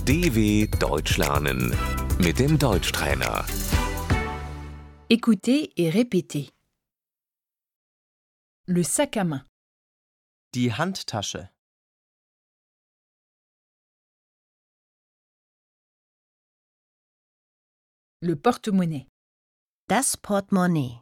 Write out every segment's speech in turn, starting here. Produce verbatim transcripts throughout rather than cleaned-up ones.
D W Deutsch lernen mit dem Deutschtrainer. Écoutez et répétez. Le sac à main, Die Handtasche, le porte-monnaie, Das Portemonnaie,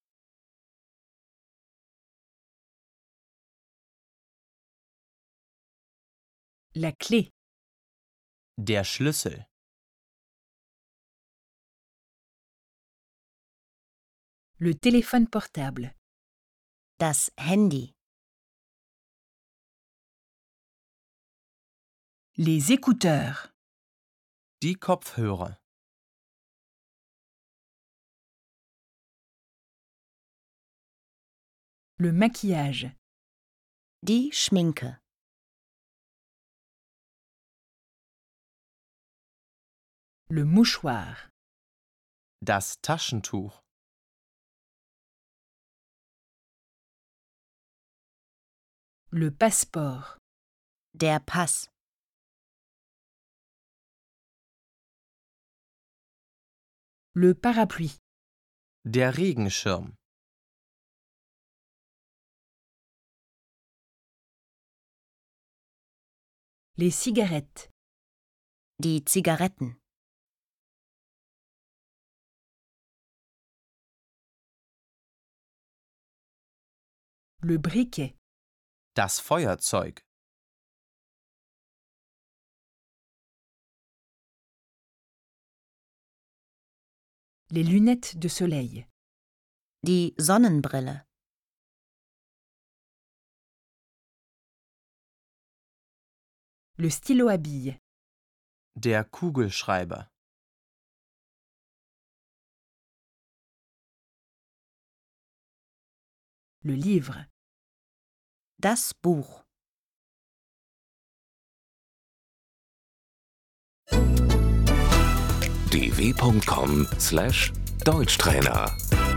la clé, der Schlüssel, le téléphone portable, das Handy, les écouteurs, die Kopfhörer, le maquillage, die Schminke, le mouchoir, das Taschentuch, le passeport, der Pass, le parapluie, der Regenschirm, les cigarettes, die Zigaretten, le briquet, das Feuerzeug, les lunettes de soleil, die Sonnenbrille, le stylo à billes, der Kugelschreiber, le livre, das Buch. d w punkt com slash Deutschtrainer